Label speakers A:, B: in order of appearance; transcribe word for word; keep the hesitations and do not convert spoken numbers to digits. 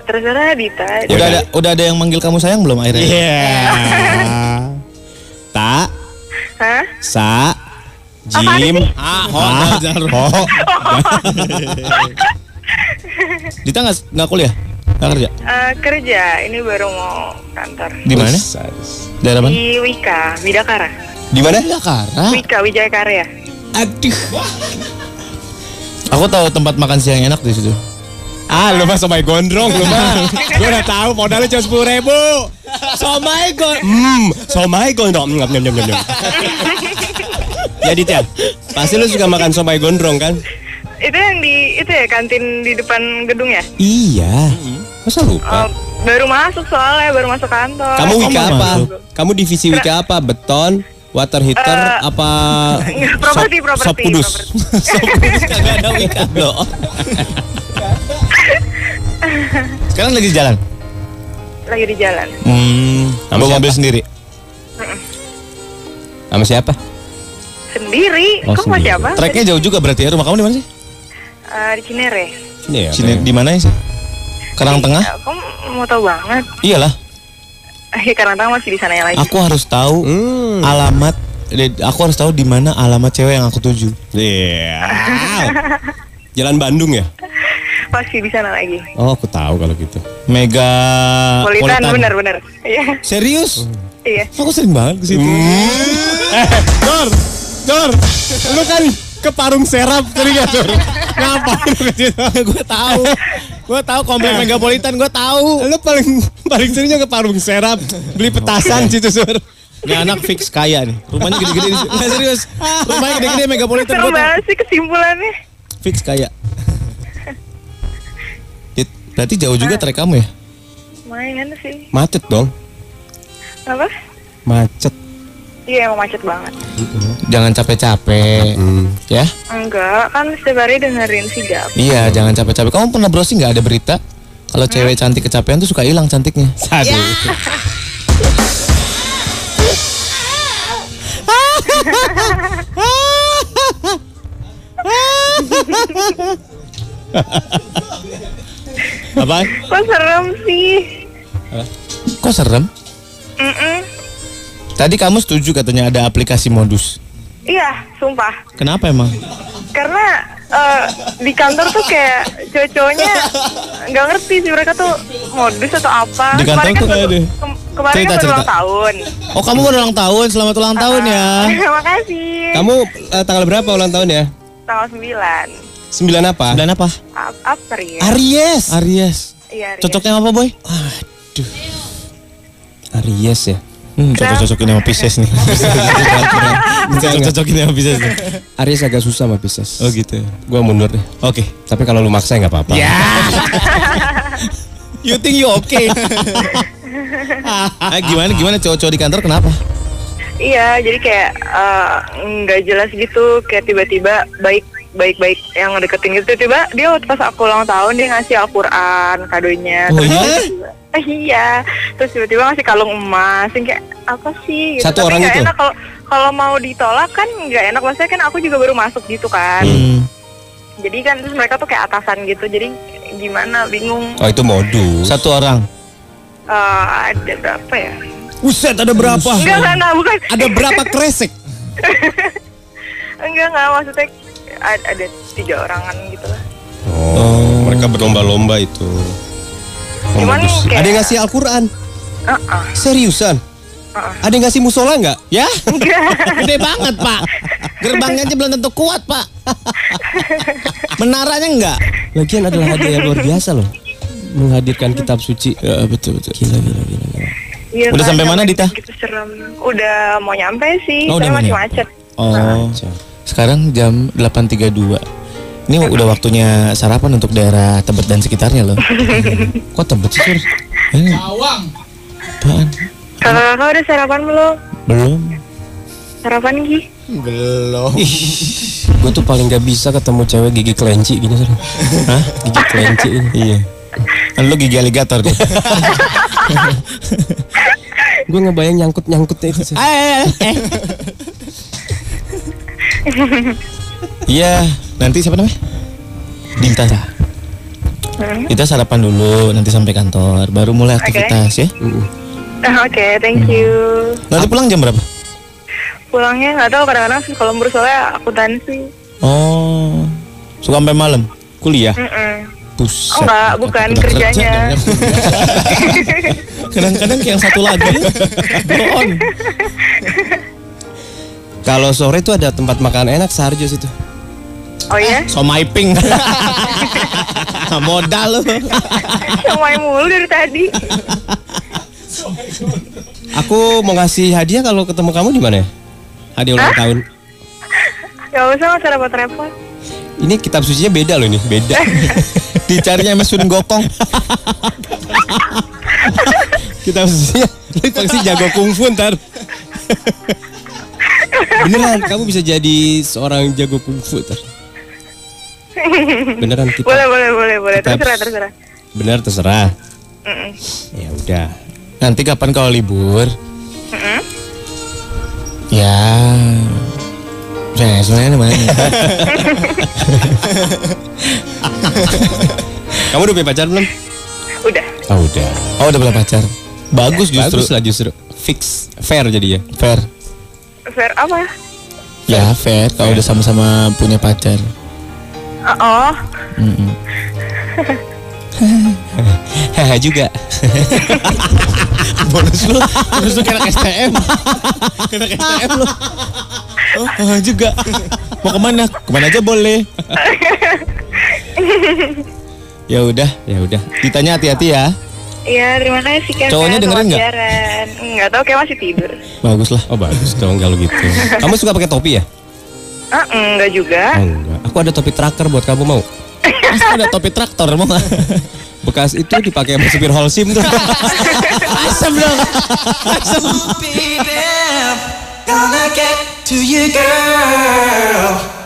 A: Terserah Dita.
B: Udah ada udah ada yang manggil kamu sayang belum akhirnya?
C: Iya. Yeah. Tak.
A: Hah?
C: Sa. Jim.
B: Ah, ho,
C: Ah, ho.
B: Dita nggak nggak kuliah? Nggak kerja?
A: Uh, kerja, ini baru mau kantor.
B: Di mana? Daerah mana?
A: Di Wika, Bidakara.
C: Di mana?
B: Jakarta.
A: Wika, Wijaya Karya.
B: Aduh. Aku tahu tempat makan siang enak di situ.
C: Ah, lu mah somai gondrong lu mah. Gue udah tahu modalnya cuma sepuluh ribu. Somai gondrong. Hmm, somai gondrong. Nyam nyam nyam nyam. Jadi Tia, pasti lu suka makan somai gondrong kan?
A: Itu yang di itu ya kantin di depan gedung ya?
C: Iya. Masa lupa?
A: Uh, baru masuk soalnya, baru masuk kantor.
C: Kamu wika
B: Oh,
C: apa?
B: masuk.
C: Kamu divisi wika apa? Beton, water heater,
A: Uh,
C: apa?
A: properti,
C: sop,
A: properti,
C: sop kudus.
A: properti.
C: Sop kudus kagak ada wika loh.
B: Sekarang lagi di jalan.
A: Lagi di jalan.
B: Hmm.
C: Sama
B: Bawa
C: siapa?
B: mobil sendiri.
C: Sama siapa?
A: Sendiri?
C: Oh,
A: Kok mau
C: sendiri.
A: siapa?
B: Treknya jauh juga berarti ya. Rumah kamu di mana sih?
A: Uh, di Cinere.
C: Ini ya.
B: Sini di mana sih? Karang Tengah?
A: Ya, kamu mau tahu banget?
B: Iyalah.
A: Eh, Karang Tengah masih di sana ya lagi.
B: Aku harus tahu
C: Hmm.
B: alamat. Aku harus tahu di mana alamat cewek yang aku tuju.
C: Iya. Jalan Bandung ya?
A: Masih di sana lagi.
C: Oh, aku tahu kalau gitu.
B: Mega.
A: Politan, bener-bener. Iya.
B: Serius?
A: Iya.
B: Aku sering banget ke situ.
C: Eh, Dor, Dor, lu kan ke Parung Serap tadi gak Dor? Ngapain lu ke situ?
B: Gue tahu. Gue tahu komplek Megapolitan, gue tahu.
C: Lu paling paling seringnya ke Parung Serap beli petasan situ Sur.
B: Ini anak fix kaya nih. Rumahnya gede-gede di situ. Nggak serius. Rumahnya gede-gede Megapolitan,
A: Seru
B: gue tahu.
A: banget sih kesimpulannya.
B: Fix kaya. Dit, berarti jauh juga trek kamu ya?
A: Lumayan sih.
C: Macet dong.
A: Apa?
C: Macet.
A: Iya emang macet banget.
B: Jangan capek-capek.
C: Hmm.
B: Ya?
A: Enggak, kan setiap hari dengerin sigap.
B: Iya, jangan capek-capek. Kamu pernah browsing nggak ada berita kalau cewek cantik kecapean tuh suka hilang cantiknya?
C: Aduh. Apa?
A: Kok serem sih?
B: Kok serem?
A: Mm-mm.
B: Tadi kamu setuju katanya ada aplikasi modus.
A: Iya, sumpah.
B: Kenapa emang?
A: Karena eh, di kantor tuh kayak cowok-cowoknya nggak ngerti sih mereka tuh modus atau apa.
B: Di kantor
A: Kemarin
B: tuh
A: kan
B: kayak
A: baru-
B: deh.
A: kem- kemarin
B: Cerita,
A: kan baru
B: cerita.
A: ulang tahun.
B: Oh, kamu baru ulang tahun. Selamat ulang tahun ya.
A: Terima kasih.
C: Kamu eh, tanggal berapa ulang tahun ya?
A: Tanggal sembilan.
C: Sembilan apa?
B: Dan apa?
A: Ap- April.
C: Aries.
B: Aries.
A: Iya, Aries.
B: Cocoknya apa, Boy?
C: Aduh. Aries ya.
B: Hmm, cocok-cocokin sama Pisces nih. Cocok-cocokin sama Pisces nih.
C: Aries agak susah sama Pisces.
B: Oh gitu.
C: Gua mundur deh.
B: Oke.
C: Tapi kalau lu maksa nggak apa-apa.
B: Ya. You think you okay? Ah, gimana gimana cowok-cowok di kantor kenapa?
A: Iya, jadi kayak eh, nggak jelas gitu, kayak tiba-tiba baik baik-baik yang ngedeketin gitu, tiba dia waktu pas aku ulang tahun dia ngasih Al-Quran kadonya.
B: Oh,
A: Terus
B: iya?
A: tiba-tiba- eh, iya, terus tiba-tiba ngasih kalung emas, yang kayak apa sih? Gitu.
C: Satu
A: Tapi
C: orang
A: nggak
C: itu?
A: enak kalau kalau mau ditolak kan nggak enak, maksudnya kan aku juga baru masuk gitu kan.
B: Hmm.
A: Jadi kan terus mereka tuh kayak atasan gitu, jadi gimana, bingung.
C: Oh itu modus.
B: Satu orang.
A: Eh, ada berapa ya?
C: Uset ada berapa?
A: Enggak, enggak, enggak, bukan.
C: Ada berapa kresek?
A: Enggak, enggak, maksudnya ada, ada tiga orangan gitu lah.
C: Oh, mereka berlomba-lomba itu. Oh,
A: Cuman
C: modus.
A: kayak-
C: Ada yang ngasih Al-Quran?
A: Uh-uh.
C: Seriusan?
A: Uh-uh.
C: Ada yang ngasih musola nggak?
B: Ya? Gede banget, Pak. Gerbangnya aja belum tentu kuat, Pak. Menaranya enggak?
C: Lagian adalah hadiah yang luar biasa loh. Menghadirkan kitab suci.
B: Ya, betul betul.
C: Gila, gila, gila, gila.
A: Iya,
B: Udah
A: kan,
B: sampai mana, Dita?
A: Gitu serem. Udah mau nyampe sih,
B: Oh, udah
A: saya
B: mau
A: masih
B: nyampe.
A: macet.
B: Oh. Sekarang jam delapan tiga puluh dua. Ini udah waktunya sarapan untuk daerah Tebet dan sekitarnya loh. Kok Tebet sih, Sur? Ini
D: Bawang.
B: apaan?
A: Kakak-kakak udah sarapan belum?
B: Belum.
A: Sarapan Gi?
D: Belum.
C: Gue tuh paling gak bisa ketemu cewek gigi kelinci gini Sur.
B: Hah?
C: Gigi kelinci ini.
B: Iya. Kan lu gigi aligator deh.
C: Gue ngebayang nyangkut-nyangkutnya itu Sur.
B: Eh, eh. Iya, nanti siapa namanya? Dinta.
A: Hmm.
B: Kita sarapan dulu, nanti sampai kantor, baru mulai aktivitas ya.
A: Ah, Oke, thank you.
B: Nanti pulang jam berapa?
A: Pulangnya nggak tahu, kadang-kadang sih kalau lembur soalnya akuntansi.
B: Oh, suka sampai malam kuliah.
A: Mm-mm.
B: Buset.
A: Oh enggak, bukan
B: Udah kerja,
A: kerjanya.
B: jangan kuliah. Kadang-kadang yang satu lagi blow on.
C: Kalau sore itu ada tempat makan enak Sarjo situ.
A: Oh iya?
B: Somai pink. Modal lu.
A: Somai mulu dari tadi.
C: Aku mau ngasih hadiah kalau ketemu kamu di mana ya? Hadiah ulang
A: Hah?
C: tahun.
A: Gak usah, nggak usah repot-repot.
C: Ini kitab sucinya beda loh ini, beda.
B: Dicarinya sama Sun Gokong.
C: Kitab sucinya lu pasti jago kungfu ntar. Beneran, kamu bisa jadi seorang jago kungfu ntar. Beneran kita.
A: Boleh, boleh, boleh, boleh.
C: Kita-
A: Terserah, terserah.
C: Bener terserah.
A: Mm-mm.
C: Ya udah.
B: Nanti kapan kalau libur?
A: Mm-mm.
B: Ya. Saya sebenarnya mana?
C: Kamu udah punya pacar belum?
A: Udah.
C: Oh udah.
B: Oh, udah punya pacar. Bagus justru.
C: Bagus lah justru. Fix, fair jadi ya.
B: Fair.
A: Fair apa?
B: Ya, fair kalau udah sama-sama punya pacar.
A: Oh, oh.
B: Mm-mm.
C: Haha juga.
B: Bonus lu, bonus lu kena S T M. Kena S T M lu. Oh, oh, juga. Mau kemana? Kemana aja boleh. Ya udah,
C: Ya udah.
B: ditanya hati-hati ya.
A: Iya, terima kasih Kevin.
B: Cowoknya dengerin nggak?
A: nggak? Nggak tahu, kayak masih tidur.
B: Bagus lah.
C: Oh bagus dong kalau gitu. Kamu suka pakai topi ya?
A: Ah, enggak juga.
C: Oh enggak. Aku ada topi tracker buat kamu mau.
B: Mas ada topi traktor mau nggak?
C: Bekas itu dipakai sama supir Holcim tuh.
B: Asam dong.
D: Baby, gonna get to you, girl.